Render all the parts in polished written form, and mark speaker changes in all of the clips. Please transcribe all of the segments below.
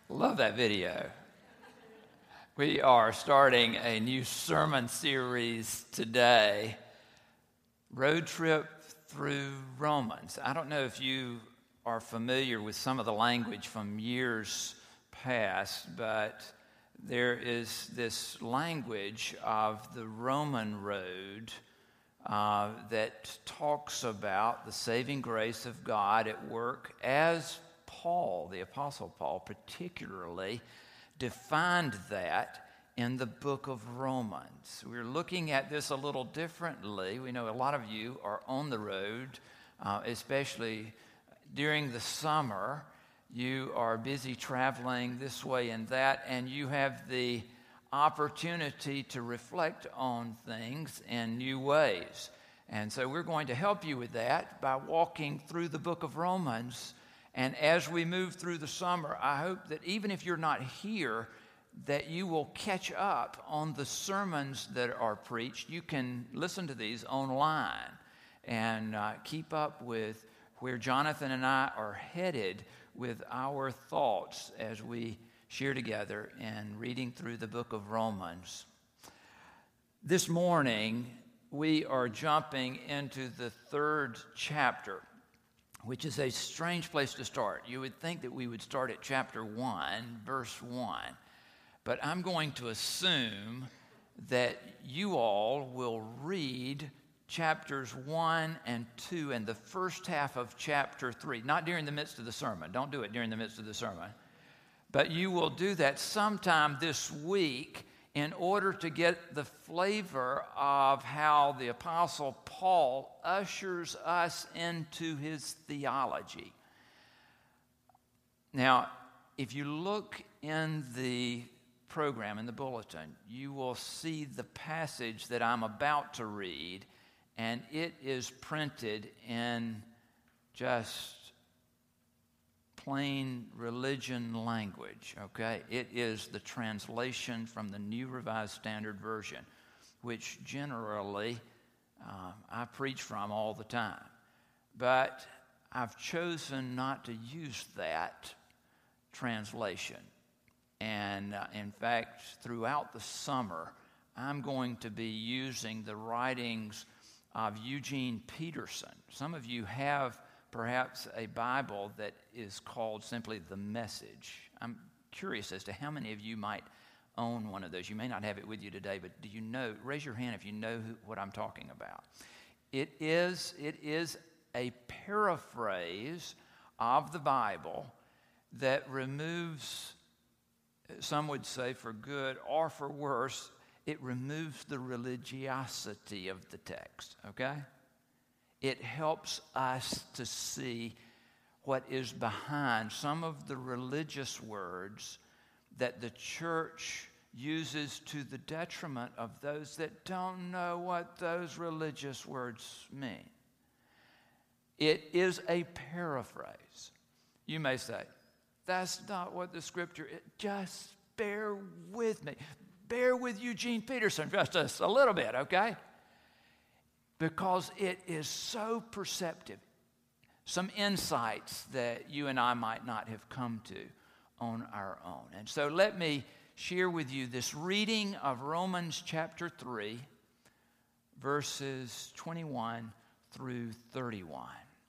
Speaker 1: Love that video. We are starting a new sermon series today, Road Trip Through Romans. I don't know if you are familiar with some of the language from years past, but there is this language of the Roman road that talks about the saving grace of God at work as Paul, the Apostle Paul, particularly defined that in the book of Romans. We're looking at this a little differently. We know a lot of you are on the road, especially during the summer. You are busy traveling this way and that, and you have the opportunity to reflect on things in new ways. And so we're going to help you with that by walking through the book of Romans. And as we move through the summer, I hope that even if you're not here, that you will catch up on the sermons that are preached. You can listen to these online and keep up with where Jonathan and I are headed with our thoughts as we share together in reading through the book of Romans. This morning, we are jumping into the third chapter, which is a strange place to start. You would think that we would start at chapter 1, verse 1. But I'm going to assume that you all will read chapters 1 and 2 and the first half of chapter 3. Not during the midst of the sermon. Don't do it during the midst of the sermon. But you will do that sometime this week in order to get the flavor of how the Apostle Paul ushers us into his theology. Now, if you look in the program, in the bulletin, you will see the passage that I'm about to read, and it is printed in just plain religion language, okay? It is the translation from the New Revised Standard Version, which generally I preach from all the time. But I've chosen not to use that translation. And in fact, throughout the summer, I'm going to be using the writings of Eugene Peterson. Some of you have perhaps a Bible that is called simply The Message. I'm curious as to how many of you might own one of those. You may not have it with you today, but do you know, raise your hand if you know what I'm talking about. It is a paraphrase of the Bible that removes, some would say for good or for worse, it removes the religiosity of the text, okay? It helps us to see what is behind some of the religious words that the church uses to the detriment of those that don't know what those religious words mean. It is a paraphrase. You may say, that's not what the scripture is. Just bear with me. Bear with Eugene Peterson just a little bit, okay? Because it is so perceptive. Some insights that you and I might not have come to on our own. And so let me share with you this reading of Romans chapter 3, verses 21 through 31.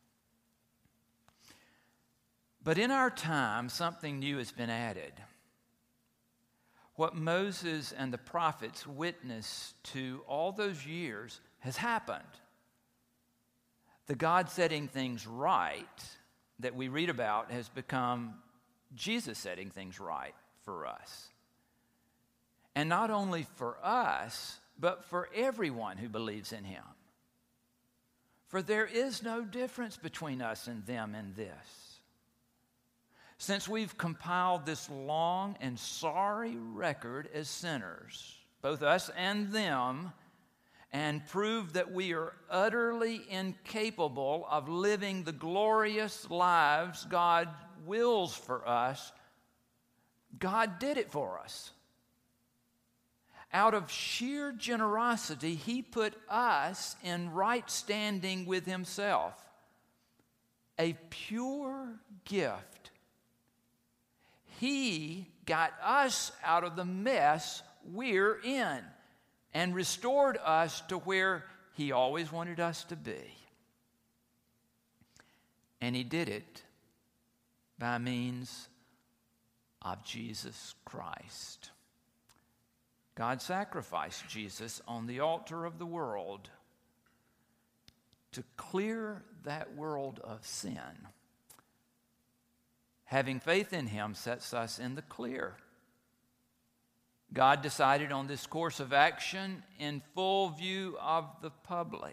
Speaker 1: But in our time, something new has been added. What Moses and the prophets witnessed to all those years has happened. The God setting things right that we read about has become Jesus setting things right for us. And not only for us, but for everyone who believes in him. For there is no difference between us and them in this. Since we've compiled this long and sorry record as sinners, both us and them, and prove that we are utterly incapable of living the glorious lives God wills for us, God did it for us. Out of sheer generosity, he put us in right standing with himself, a pure gift He got us out of the mess we're in and restored us to where He always wanted us to be. And He did it by means of Jesus Christ. God sacrificed Jesus on the altar of the world to clear that world of sin. Having faith in Him sets us in the clear. God decided on this course of action in full view of the public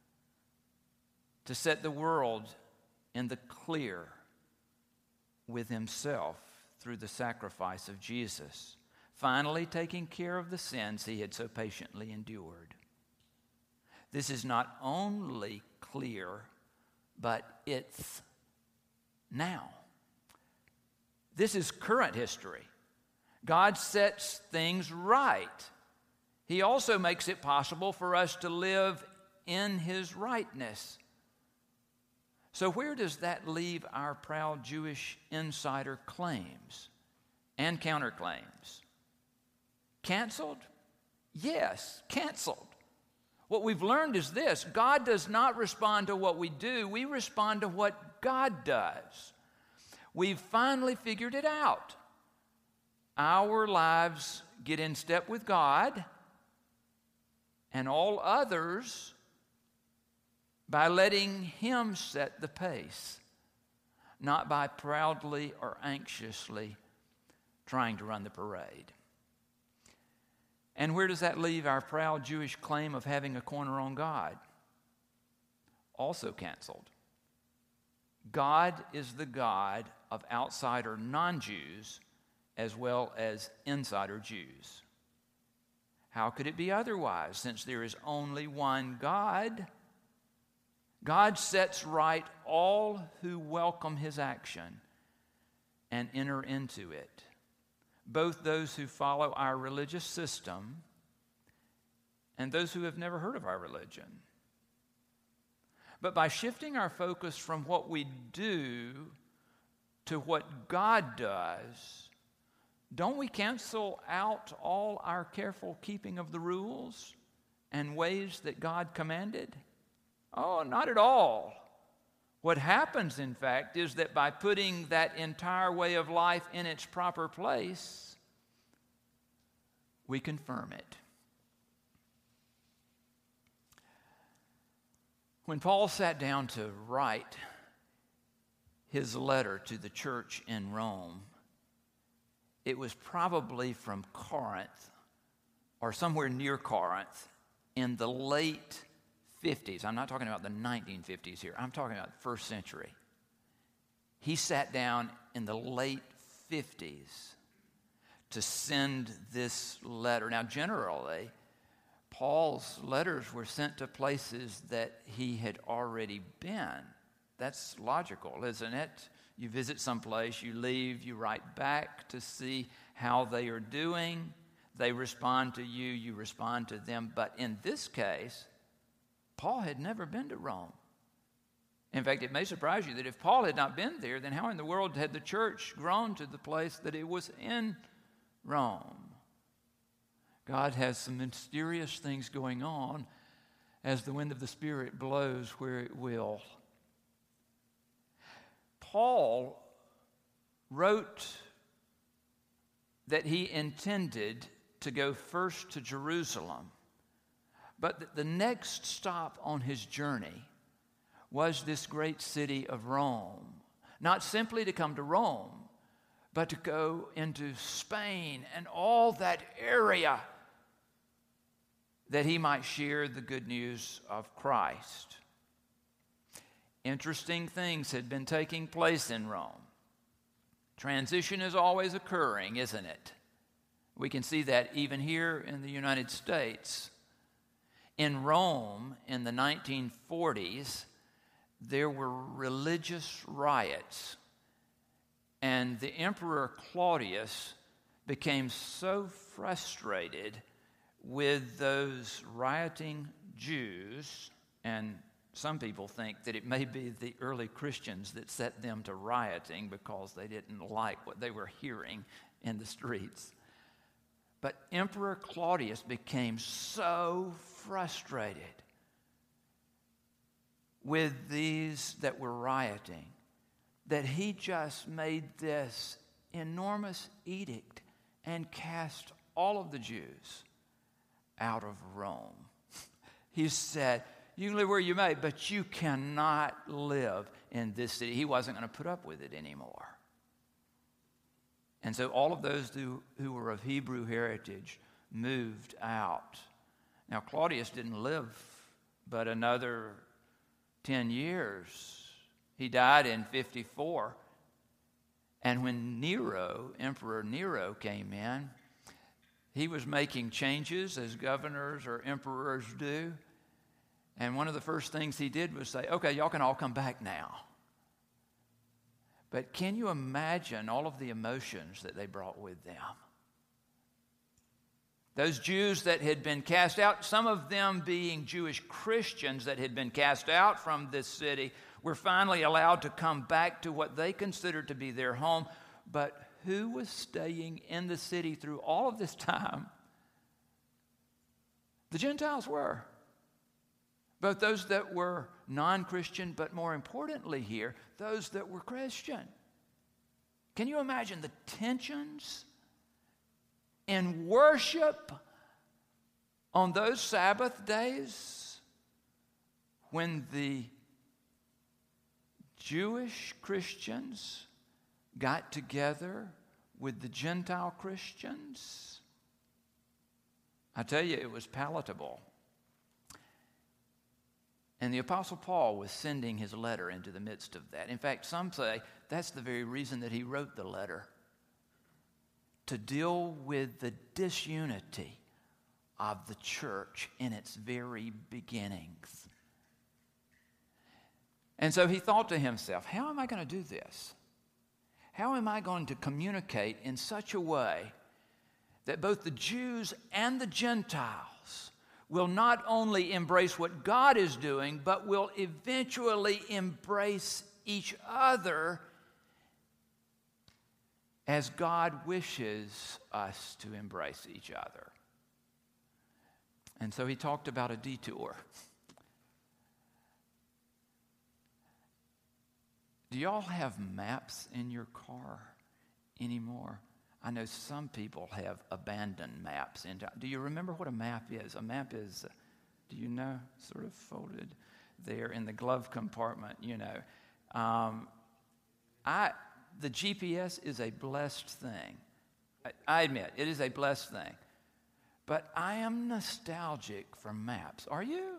Speaker 1: to set the world in the clear with Himself through the sacrifice of Jesus, finally taking care of the sins He had so patiently endured. This is not only clear, but it's now. This is current history. God sets things right. He also makes it possible for us to live in His rightness. So where does that leave our proud Jewish insider claims and counterclaims? Canceled? Yes, canceled. What we've learned is this: God does not respond to what we do, we respond to what God does. We've finally figured it out. Our lives get in step with God and all others by letting Him set the pace, not by proudly or anxiously trying to run the parade. And where does that leave our proud Jewish claim of having a corner on God? Also canceled. God is the God of outsider non-Jews as well as insider Jews. How could it be otherwise, since there is only one God? God sets right all who welcome His action and enter into it, both those who follow our religious system and those who have never heard of our religion. But by shifting our focus from what we do to what God does, don't we cancel out all our careful keeping of the rules and ways that God commanded? Oh, not at all. What happens, in fact, is that by putting that entire way of life in its proper place, we confirm it. When Paul sat down to write his letter to the church in Rome, it was probably from Corinth or somewhere near Corinth in the late 50s. I'm not talking about the 1950s here. I'm talking about the first century. He sat down in the late 50s to send this letter. Now, generally, Paul's letters were sent to places that he had already been. That's logical, isn't it? You visit someplace, you leave, you write back to see how they are doing. They respond to you, you respond to them. But in this case, Paul had never been to Rome. In fact, it may surprise you that if Paul had not been there, then how in the world had the church grown to the place that it was in Rome? God has some mysterious things going on as the wind of the Spirit blows where it will. Paul wrote that he intended to go first to Jerusalem, but that the next stop on his journey was this great city of Rome. Not simply to come to Rome, but to go into Spain and all that area that he might share the good news of Christ. Interesting things had been taking place in Rome. Transition is always occurring, isn't it? We can see that even here in the United States. In Rome in the 1940s, there were religious riots, and the Emperor Claudius became so frustrated with those rioting Jews and some people think that it may be the early Christians that set them to rioting because they didn't like what they were hearing in the streets. But Emperor Claudius became so frustrated with these that were rioting that he just made this enormous edict and cast all of the Jews out of Rome. He said, you can live where you may, but you cannot live in this city. He wasn't going to put up with it anymore. And so all of those who were of Hebrew heritage moved out. Now, Claudius didn't live but another 10 years. He died in 54. And when Emperor Nero came in, he was making changes as governors or emperors do. And one of the first things he did was say, okay, y'all can all come back now. But can you imagine all of the emotions that they brought with them? Those Jews that had been cast out, some of them being Jewish Christians that had been cast out from this city, were finally allowed to come back to what they considered to be their home. But who was staying in the city through all of this time? The Gentiles were. Both those that were non-Christian, but more importantly here, those that were Christian. Can you imagine the tensions in worship on those Sabbath days when the Jewish Christians got together with the Gentile Christians? I tell you, it was palatable. And the Apostle Paul was sending his letter into the midst of that. In fact, some say that's the very reason that he wrote the letter, to deal with the disunity of the church in its very beginnings. And so he thought to himself, how am I going to do this? How am I going to communicate in such a way that both the Jews and the Gentiles will not only embrace what God is doing, but will eventually embrace each other as God wishes us to embrace each other? And so he talked about a detour. Do y'all have maps in your car anymore? I know some people have abandoned maps. Do you remember what a map is? A map is, do you know, sort of folded there in the glove compartment, you know. The GPS is a blessed thing. I admit, it is a blessed thing. But I am nostalgic for maps. Are you?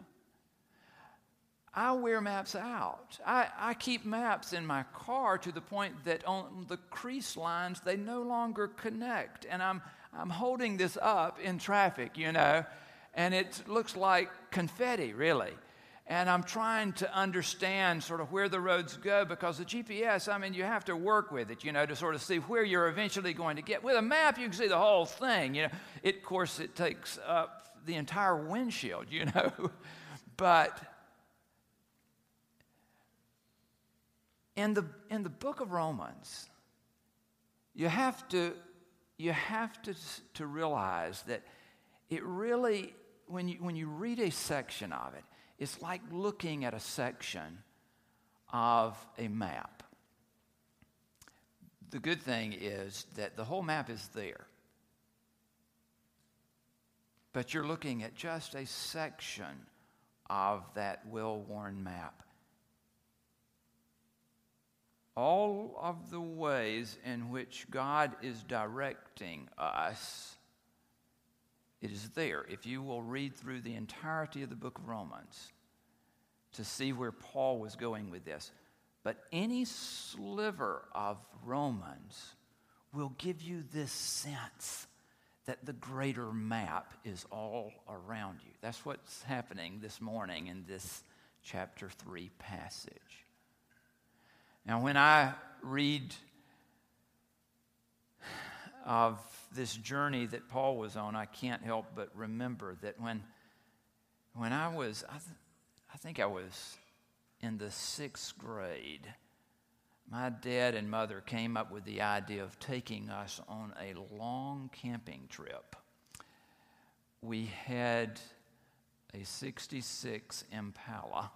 Speaker 1: I wear maps out. I keep maps in my car to the point that on the crease lines, they no longer connect. And I'm holding this up in traffic, you know, and it looks like confetti, really. And I'm trying to understand sort of where the roads go, because the GPS, I mean, you have to work with it, you know, to sort of see where you're eventually going to get. With a map, you can see the whole thing, you know. Of course, it takes up the entire windshield, you know. But in the book of Romans, you have to realize that it really, when you read a section of it, it's like looking at a section of a map. The good thing is that the whole map is there, but you're looking at just a section of that well-worn map. All of the ways in which God is directing us, it is there. If you will read through the entirety of the book of Romans to see where Paul was going with this. But any sliver of Romans will give you this sense that the greater map is all around you. That's what's happening this morning in this chapter 3 passage. Now, when I read of this journey that Paul was on, I can't help but remember that when I was I think I was in the 6th grade. My dad and mother came up with the idea of taking us on a long camping trip. We had a 66 Impala,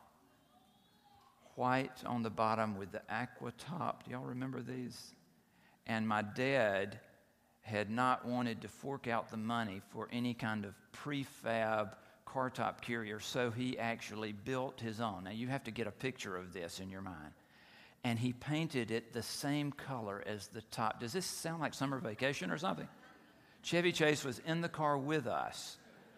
Speaker 1: white on the bottom with the aqua top. Do y'all remember these? And my dad had not wanted to fork out the money for any kind of prefab car top carrier, so he actually built his own. Now you have to get a picture of this in your mind. And he painted it the same color as the top. Does this sound like summer vacation or something? Chevy Chase was in the car with us.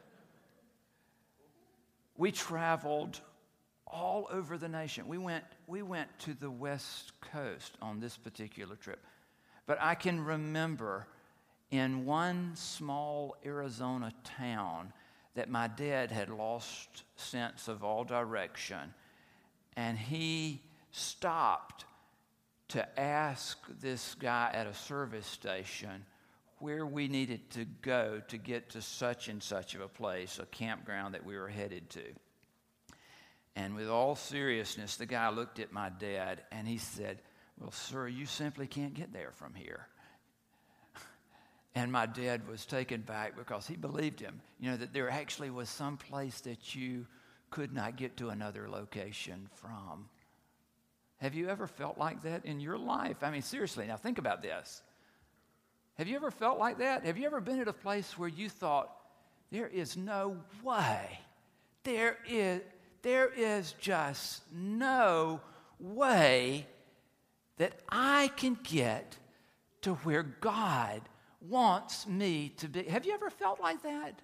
Speaker 1: We traveled all over the nation. We went to the West Coast on this particular trip. But I can remember in one small Arizona town that my dad had lost sense of all direction, and he stopped to ask this guy at a service station where we needed to go to get to such and such of a place, a campground that we were headed to. And with all seriousness, the guy looked at my dad and he said, "Well, sir, you simply can't get there from here." And my dad was taken back because he believed him, that there actually was some place that you could not get to another location from. Have you ever felt like that in your life? I mean, seriously, now think about this. Have you ever felt like that? Have you ever been at a place where you thought, there is no way, there is just no way that I can get to where God wants me to be? Have you ever felt like that?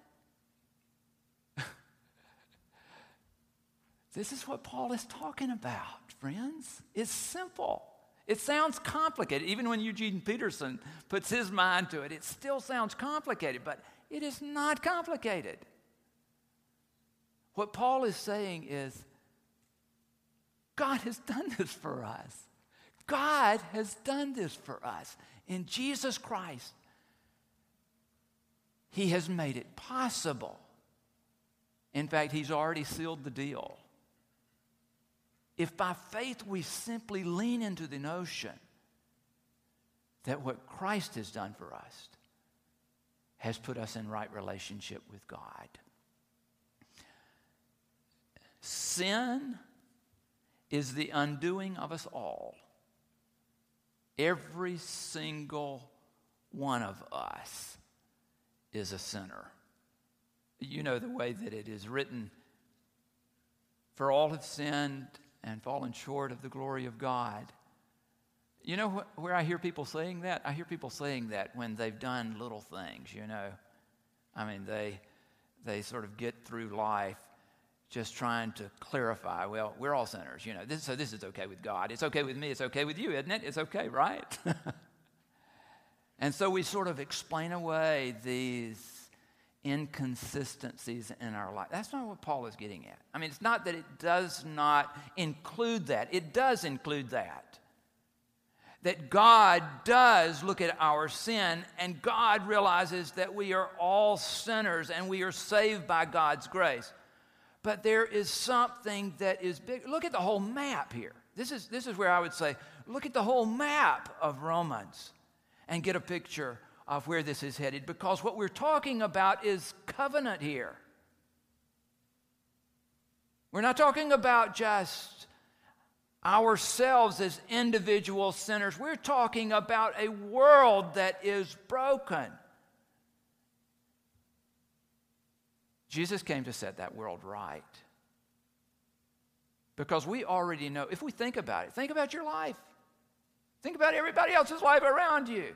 Speaker 1: This is what Paul is talking about, friends. It's simple. It sounds complicated. Even when Eugene Peterson puts his mind to it, it still sounds complicated, but it is not complicated. What Paul is saying is, God has done this for us. God has done this for us. In Jesus Christ, He has made it possible. In fact, He's already sealed the deal. If by faith we simply lean into the notion that what Christ has done for us has put us in right relationship with God. Sin is the undoing of us all. Every single one of us is a sinner. You know the way that it is written, "For all have sinned and fallen short of the glory of God." You know where I hear people saying that? I hear people saying that when they've done little things, I mean, they sort of get through life just trying to clarify, well, we're all sinners, so this is okay with God. It's okay with me. It's okay with you, isn't it? It's okay, right? And so we sort of explain away these inconsistencies in our life. That's not what Paul is getting at. I mean, it's not that it does not include that. It does include that. That God does look at our sin, and God realizes that we are all sinners and we are saved by God's grace. But there is something that is big. Look at the whole map here. This is where I would say, look at the whole map of Romans and get a picture of where this is headed, because what we're talking about is covenant here. We're not talking about just ourselves as individual sinners. We're talking about a world that is broken. Jesus came to set that world right. Because we already know, if we think about it, think about your life. Think about everybody else's life around you.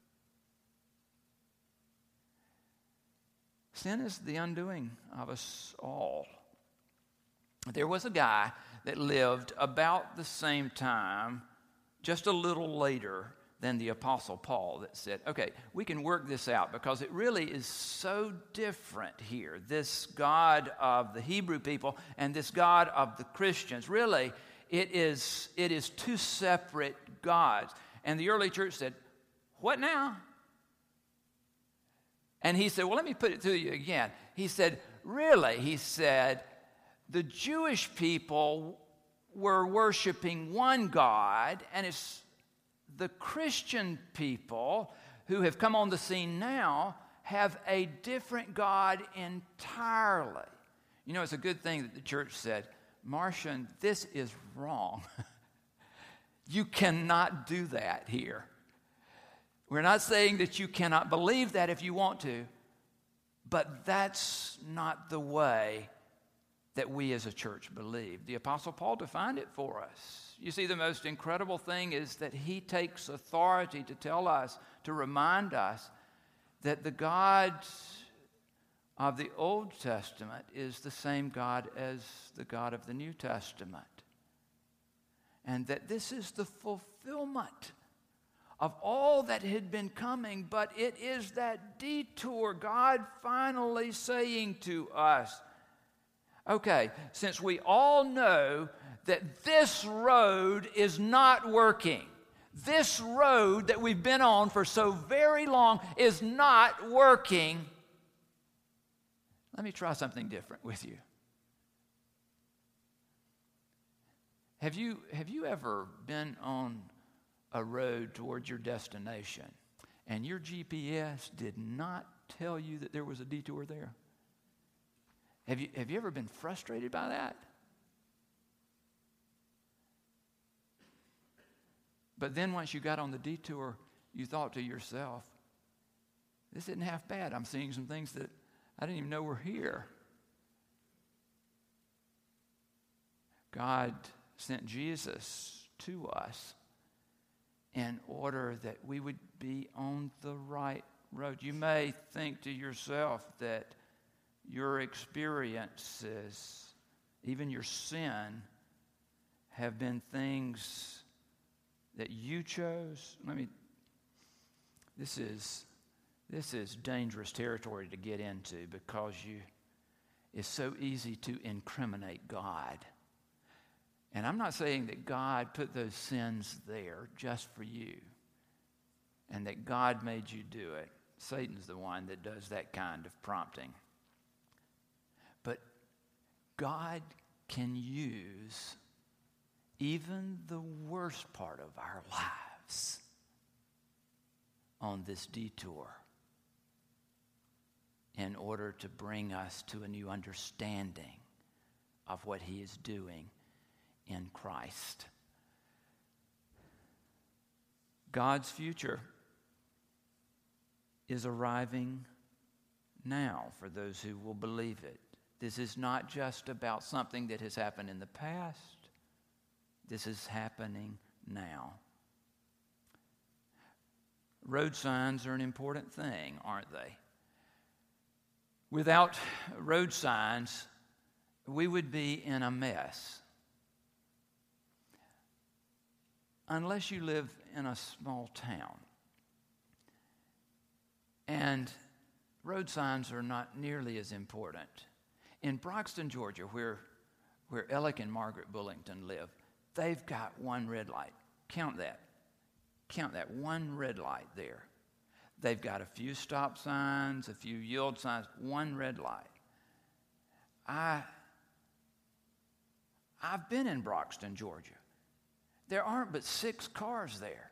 Speaker 1: Sin is the undoing of us all. There was a guy that lived about the same time, just a little later than the Apostle Paul, that said, okay, we can work this out because it really is so different here. This God of the Hebrew people and this God of the Christians, really, it is two separate gods. And the early church said, what now? And he said, well, let me put it to you again. He said, really, he said, the Jewish people were worshiping one God, and it's the Christian people who have come on the scene now have a different God entirely. You know, it's a good thing that the church said, Martian, this is wrong. You cannot do that here. We're not saying that you cannot believe that if you want to, but that's not the way that we as a church believe. The Apostle Paul defined it for us. You see, the most incredible thing is that he takes authority to tell us, to remind us that the God of the Old Testament is the same God as the God of the New Testament. And that this is the fulfillment of all that had been coming, but it is that detour, God finally saying to us, okay, since we all know that this road is not working, this road that we've been on for so very long is not working, let me try something different with you. Have you ever been on a road towards your destination and your GPS did not tell you that there was a detour there? Have you ever been frustrated by that? But then once you got on the detour, you thought to yourself, this isn't half bad. I'm seeing some things that I didn't even know were here. God sent Jesus to us in order that we would be on the right road. You may think to yourself that your experiences, even your sin, have been things that you chose. This is dangerous territory to get into because it's so easy to incriminate God. And I'm not saying that God put those sins there just for you and that God made you do it. Satan's the one that does that kind of prompting. But God can use even the worst part of our lives on this detour in order to bring us to a new understanding of what he is doing in Christ. God's future is arriving now for those who will believe it. This is not just about something that has happened in the past. This is happening now. Road signs are an important thing, aren't they? Without road signs, we would be in a mess. Unless you live in a small town. And road signs are not nearly as important. In Broxton, Georgia, where Alec and Margaret Bullington live, they've got one red light. Count that. Count that, one red light there. They've got a few stop signs, a few yield signs, one red light. I've been in Broxton, Georgia. There aren't but 6 cars there.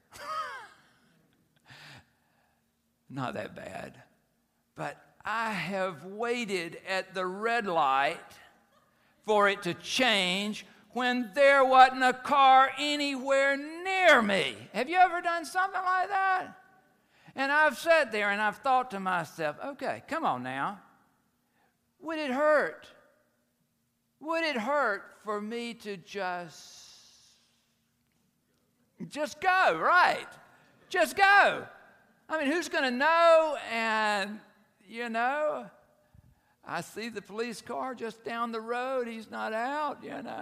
Speaker 1: Not that bad. But I have waited at the red light for it to change when there wasn't a car anywhere near me. Have you ever done something like that? And I've sat there and I've thought to myself, okay, come on now. Would it hurt? Would it hurt for me to just go, right? Just go. I mean, who's going to know? And, I see the police car just down the road. He's not out,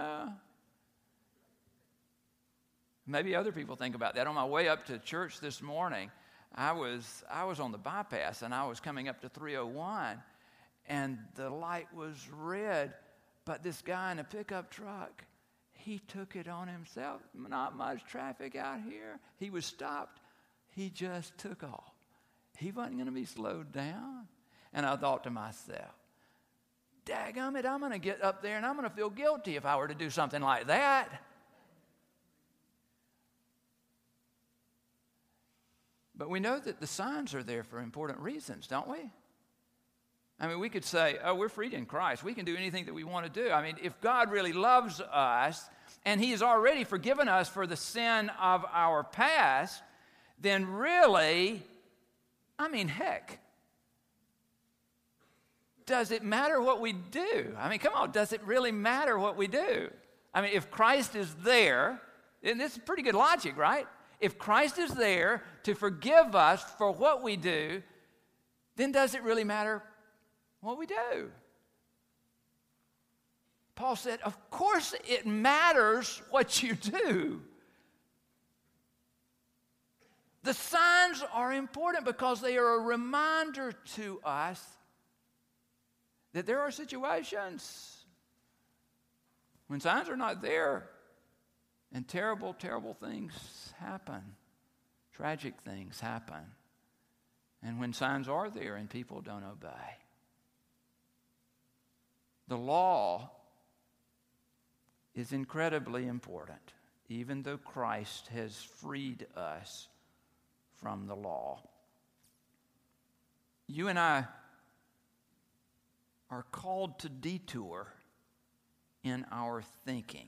Speaker 1: Maybe other people think about that. On my way up to church this morning, I was on the bypass, and I was coming up to 301, and the light was red, but this guy in a pickup truck, he took it on himself. Not much traffic out here. He was stopped. He just took off. He wasn't going to be slowed down. And I thought to myself, Dadgummit, I'm going to get up there and I'm going to feel guilty if I were to do something like that. But we know that the signs are there for important reasons, don't we? I mean, we could say, oh, we're freed in Christ. We can do anything that we want to do. I mean, if God really loves us and He has already forgiven us for the sin of our past, then really, I mean, heck, does it matter what we do? I mean, come on, does it really matter what we do? I mean, if Christ is there, and this is pretty good logic, right? If Christ is there to forgive us for what we do, then does it really matter what we do? Paul said, of course it matters what you do. The signs are important because they are a reminder to us that there are situations when signs are not there and terrible, terrible things happen. Tragic things happen. And when signs are there and people don't obey. The law is incredibly important, even though Christ has freed us from the law. You and I are called to detour in our thinking,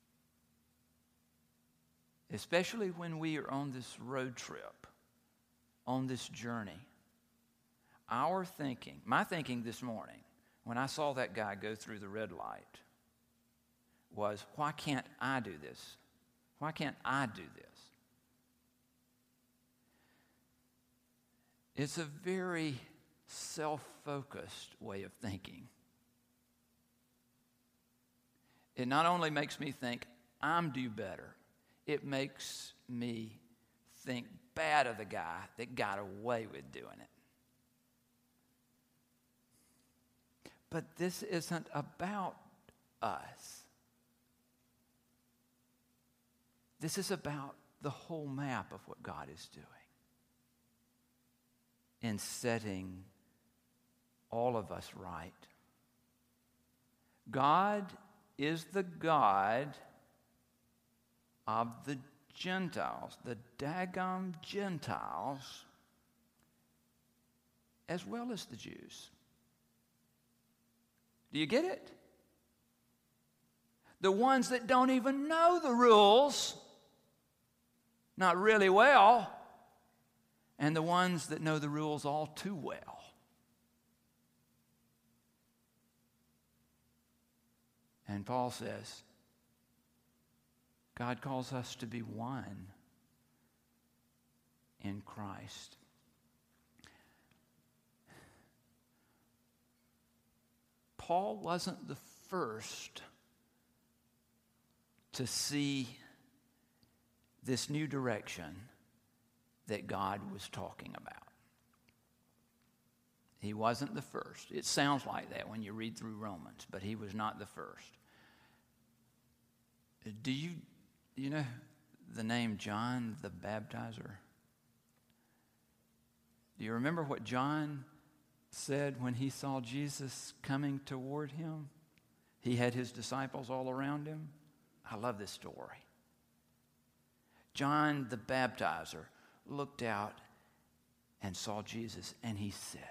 Speaker 1: especially when we are on this road trip, on this journey. Our thinking, my thinking this morning, when I saw that guy go through the red light, was, why can't I do this? Why can't I do this? It's a very self-focused way of thinking. It not only makes me think I'm due better, it makes me think bad of the guy that got away with doing it. But this isn't about us. This is about the whole map of what God is doing in setting all of us right. God is the God of the Gentiles, the daggum Gentiles, as well as the Jews. Do you get it? The ones that don't even know the rules, not really well, and the ones that know the rules all too well. And Paul says, God calls us to be one in Christ. Paul wasn't the first to see this new direction that God was talking about. He wasn't the first. It sounds like that when you read through Romans, but he was not the first. Do you know the name John the Baptizer? Do you remember what John said when he saw Jesus coming toward him? He had his disciples all around him. I love this story. John the Baptizer looked out and saw Jesus, and he said,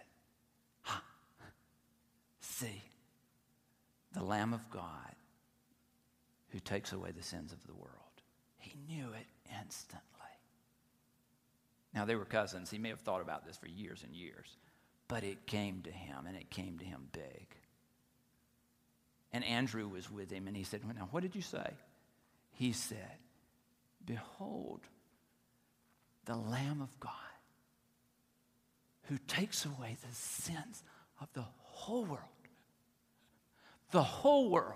Speaker 1: see, the Lamb of God who takes away the sins of the world. He knew it instantly. Now, they were cousins. He may have thought about this for years and years, but it came to him, and it came to him big. And Andrew was with him, and he said, well, now, what did you say? He said, behold, the Lamb of God who takes away the sins of the whole world. The whole world.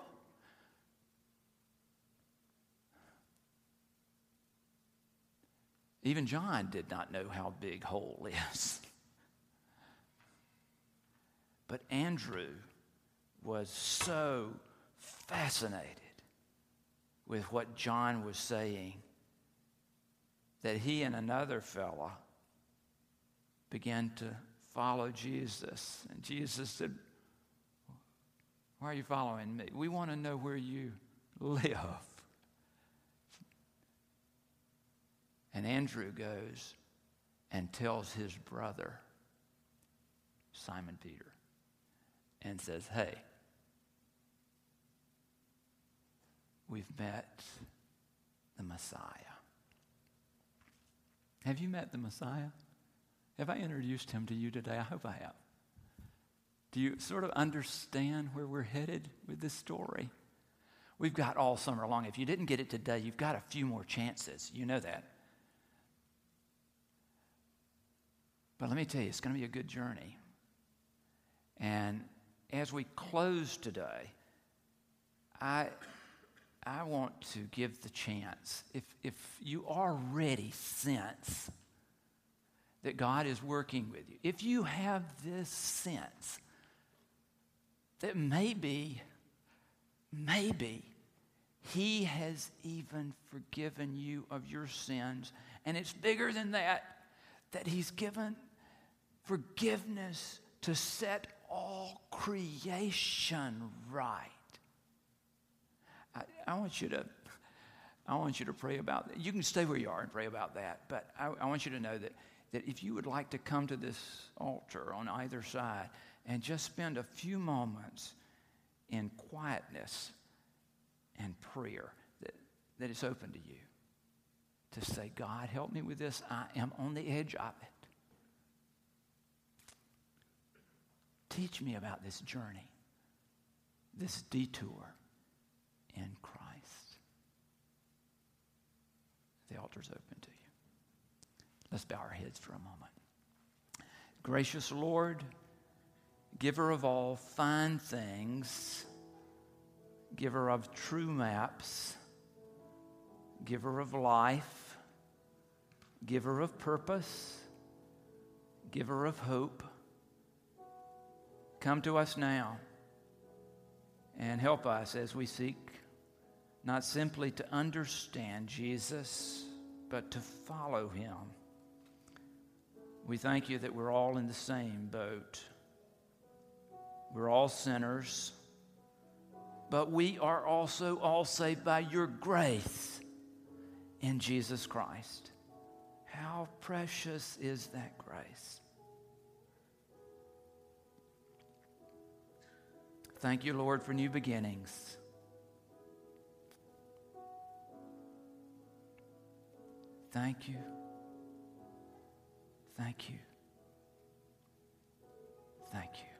Speaker 1: Even John did not know how big whole is. But Andrew was so fascinated with what John was saying that he and another fella began to follow Jesus. And Jesus said, Why are you following me? We want to know where you live. And Andrew goes and tells his brother, Simon Peter, and says, hey, we've met the Messiah. Have you met the Messiah? Have I introduced him to you today? I hope I have. Do you sort of understand where we're headed with this story? We've got all summer long. If you didn't get it today, you've got a few more chances. You know that. But let me tell you, it's going to be a good journey. And as we close today, I want to give the chance, if you already sense that God is working with you, if you have this sense that maybe He has even forgiven you of your sins, and it's bigger than that He's given forgiveness to set all creation right. I want you to pray about that. You can stay where you are and pray about that, but I want you to know that if you would like to come to this altar on either side and just spend a few moments in quietness and prayer, that it's open to you to say, God, help me with this. I am on the edge of it. Teach me about this journey, this detour in Christ. The altar's open to you. Let's bow our heads for a moment. Gracious Lord, giver of all fine things, giver of true maps, giver of life, giver of purpose, giver of hope, come to us now and help us as we seek not simply to understand Jesus, but to follow him. We thank you that we're all in the same boat. We're all sinners, but we are also all saved by your grace in Jesus Christ. How precious is that grace? Thank you, Lord, for new beginnings. Thank you. Thank you. Thank you.